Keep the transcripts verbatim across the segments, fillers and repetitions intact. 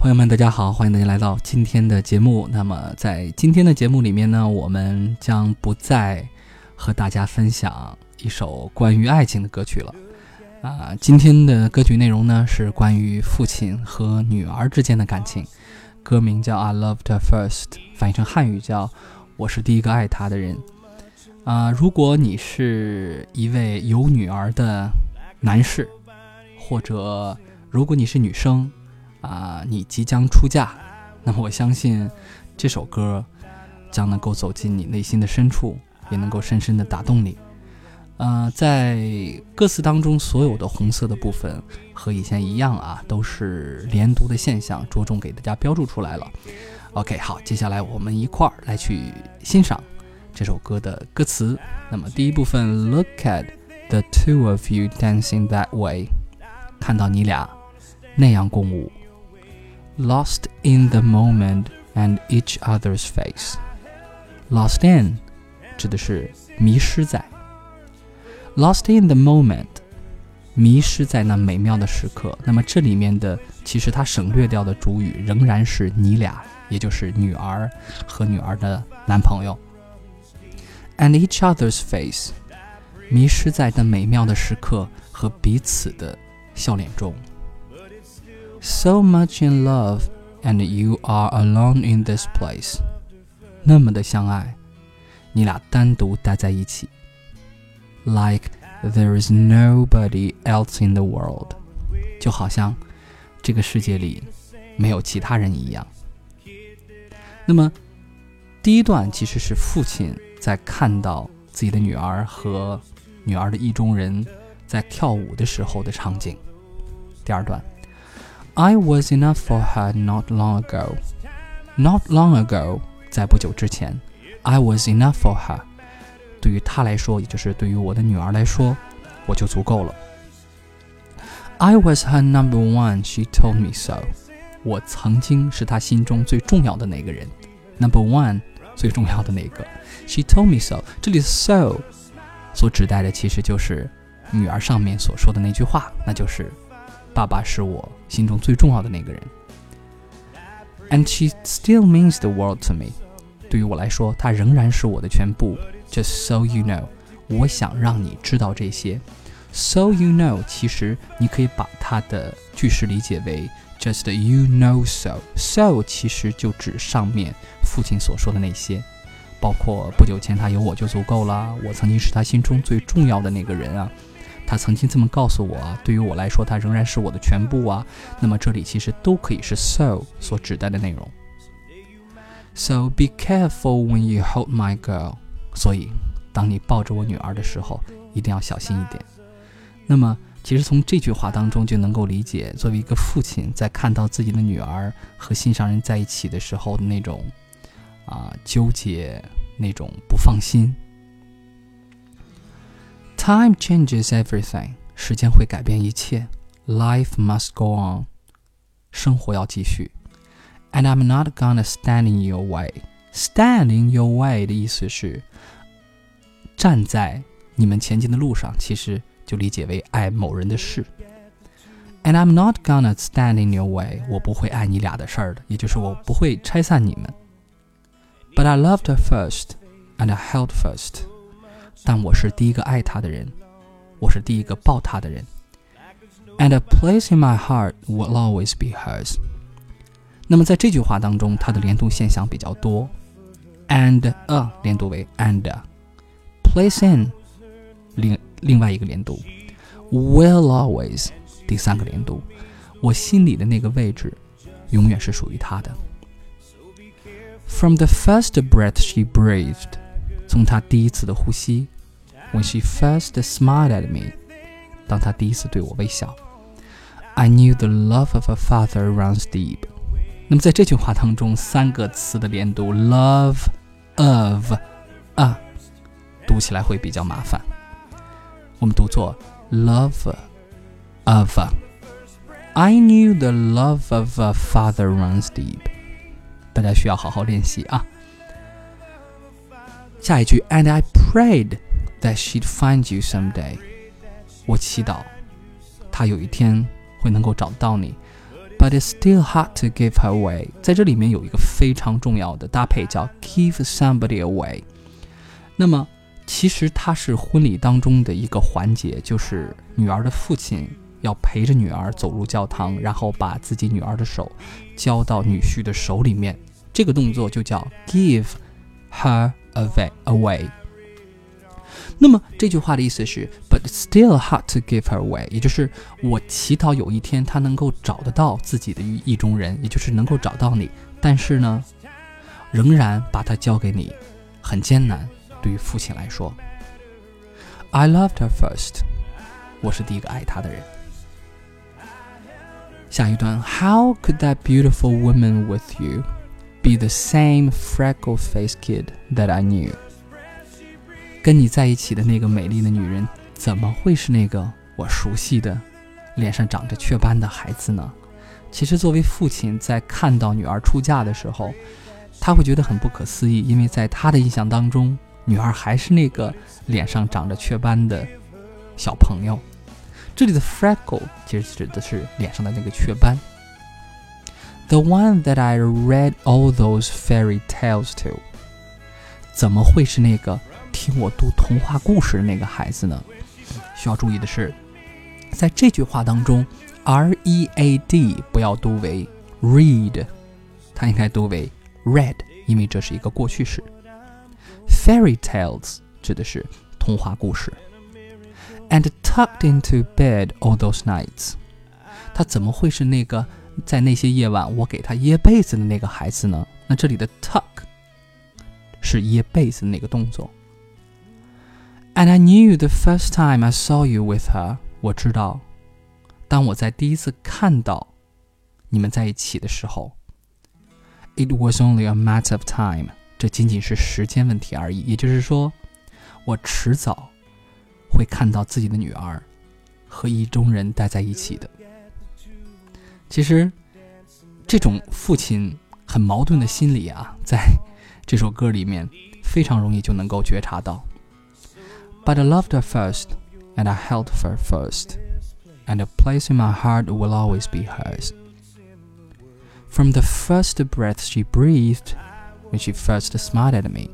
朋友们大家好，欢迎大家来到今天的节目。那么在今天的节目里面呢，我们将不再和大家分享一首关于爱情的歌曲了啊，今天的歌曲内容呢是关于父亲和女儿之间的感情，歌名叫 I Loved Her First， 翻译成汉语叫我是第一个爱她的人啊。如果你是一位有女儿的男士，或者如果你是女生啊，你即将出嫁，那么我相信这首歌将能够走进你内心的深处，也能够深深地打动你。呃，在歌词当中所有的红色的部分和以前一样啊，都是连读的现象，着重给大家标注出来了。OK， 好，接下来我们一块儿来去欣赏这首歌的歌词。那么第一部分 Look at the two of you dancing that way， 看到你俩那样共舞。Lost in the moment and each other's face， Lost in 指的是迷失在， Lost in the moment 迷失在那美妙的时刻。那么这里面的其实它省略掉的主语仍然是你俩，也就是女儿和女儿的男朋友。 And each other's face 迷失在那美妙的时刻和彼此的笑脸中。So much in love and you are alone in this place， 那么的相爱，你俩单独待在一起。 Like there is nobody else in the world， 就好像这个世界里没有其他人一样。那么第一段其实是父亲在看到自己的女儿和女儿的意中人在跳舞的时候的场景。第二段I was enough for her not long ago. Not long ago， 在不久之前 I was enough for her， 对于她来说，也就是对于我的女儿来说，我就足够了。I was her number one, she told me so。 我曾经是她心中最重要的那个人， Number one， 最重要的那个。 She told me so， 这里的 so 所指代的其实就是女儿上面所说的那句话，那就是爸爸是我心中最重要的那个人。 And she still means the world to me， 对于我来说，她仍然是我的全部。 Just so you know， 我想让你知道这些。 So you know， 其实你可以把它的句式理解为 Just you know so。 So 其实就指上面父亲所说的那些，包括不久前他有我就足够了，我曾经是他心中最重要的那个人啊，他曾经这么告诉我啊，对于我来说他仍然是我的全部啊。那么这里其实都可以是 so 所指代的内容。 So be careful when you hold my girl， 所以当你抱着我女儿的时候一定要小心一点。那么其实从这句话当中就能够理解，作为一个父亲在看到自己的女儿和心上人在一起的时候的那种啊纠结，那种不放心。Time changes everything， 时间会改变一切。 Life must go on， 生活要继续。 And I'm not gonna stand in your way。 Stand in your way 的意思是站在你们前进的路上，其实就理解为爱某人的事。 And I'm not gonna stand in your way， 我不会爱你俩的事儿的，也就是我不会拆散你们。 But I loved her first and I held first，但我是第一个爱她的人，我是第一个抱她的人。 And a place in my heart will always be hers。 那么在这句话当中，它的连读现象比较多。 And a 连读为 and， place in 另, 另外一个连读， will always 第三个连读，我心里的那个位置永远是属于她的。 From the first breath she breathed，从她第一次的呼吸。 When she first smiled at me， 当她第一次对我微笑。 I knew the love of a father runs deep。 那么在这句话当中，三个词的连读 love of a 读起来会比较麻烦，我们读作 love of a。 I knew the love of a father runs deep， 大家需要好好练习啊。下一句 And I prayed that she'd find you someday， 我祈祷她有一天会能够找到你。 But it's still hard to give her away. 在这里面有一个非常重要的搭配叫 give somebody away。 那么其实它是婚礼当中的一个环节，就是女儿的父亲要陪着女儿走入教堂，然后把自己女儿的手交到女婿的手里面，这个动作就叫 give her away, away。 那么这句话的意思是 But it's still hard to give her away， 也就是我祈祷有一天她能够找得到自己的意中人，也就是能够找到你，但是呢仍然把她交给你很艰难，对于父亲来说。 I loved her first， 我是第一个爱她的人。下一段 How could that beautiful woman with you be the same freckle-faced kid that I knew？ 跟你在一起的那个美丽的女人怎么会是那个我熟悉的脸上长着雀斑的孩子呢？其实作为父亲，在看到女儿出嫁的时候，他会觉得很不可思议，因为在他的印象当中，女儿还是那个脸上长着雀斑的小朋友。这里的 freckle 其实指的是脸上的那个雀斑。 The one that I read all those fairy tales to， 怎么会是那个听我读童话故事的那个孩子呢？需要注意的是，在这句话当中 R E A D 不要读为 read， 它应该读为 read， 因为这是一个过去式。 Fairy tales 指的是童话故事。 And tucked into bed all those nights， 他怎么会是那个在那些夜晚我给他掖被子的那个孩子呢？那这里的 tuck 是掖被子的那个动作。 And I knew the first time I saw you with her， 我知道当我在第一次看到你们在一起的时候， It was only a matter of time， 这仅仅是时间问题而已，也就是说我迟早会看到自己的女儿和意中人待在一起的。其实这种父亲很矛盾的心理啊，在这首歌里面非常容易就能够觉察到。 But I loved her first, and I held her first, and a place in my heart will always be hers. From the first breath she breathed, when she first smiled at me,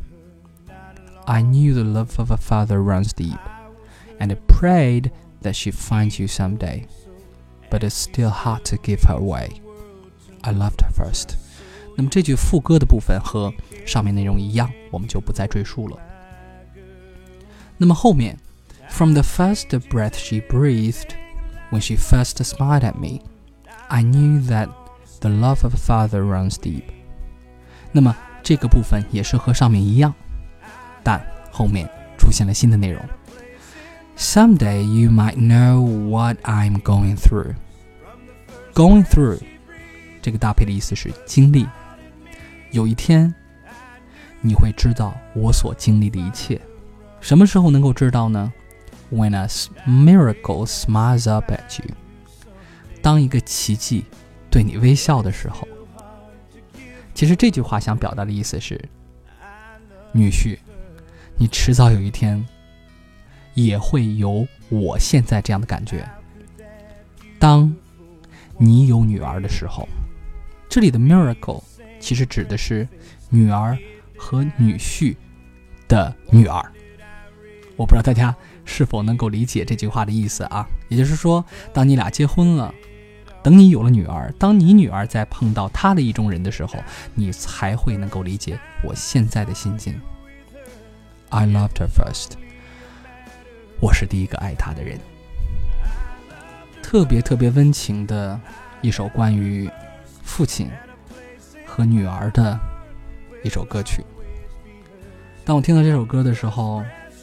I knew the love of a father runs deep, and I prayed that she'd find you someday, but it's still hard to give her away. I loved her first. 那么这句副歌的部分和上面内容一样，我们就不再赘述了。那么后面 From the first breath she breathed, when she first smiled at me, I knew that the love of a father runs deep. 那么这个部分也是和上面一样，但后面出现了新的内容。Someday you might know what I'm going through. Going through 这个搭配的意思是经历。有一天你会知道我所经历的一切。什么时候能够知道呢？ When a miracle smiles up at you. 当一个奇迹对你微笑的时候。其实这句话想表达的意思是，女婿，你迟早有一天也会有我现在这样的感觉。当你有女儿的时候，这里的 miracle 其实指的是女儿和女婿的女儿。我不知道大家是否能够理解这句话的意思啊？也就是说，当你俩结婚了，等你有了女儿，当你女儿在碰到她的意中人的时候，你才会能够理解我现在的心境。I loved her first. 我是第一个爱她的人。特别特别温情的一首关于父亲和女儿的一首歌曲。当我听到这首歌的时候，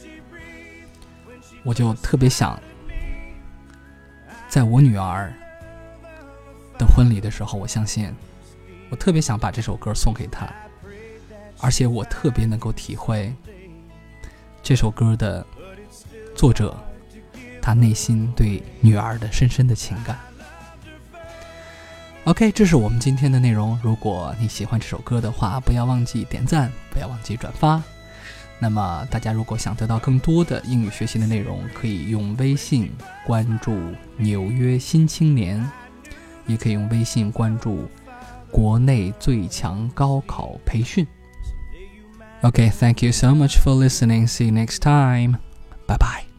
我就特别想在我女儿的婚礼的时候，我相信我特别想把这首歌送给她，而且我特别能够体会这首歌的作者他内心对女儿的深深的情感。 OK， 这是我们今天的内容。如果你喜欢这首歌的话，不要忘记点赞，不要忘记转发。那么大家如果想得到更多的英语学习的内容，可以用微信关注纽约新青年， 也可以用微信关注国内最强高考培训。 Okay, thank you so much for listening. See you next time. Bye bye.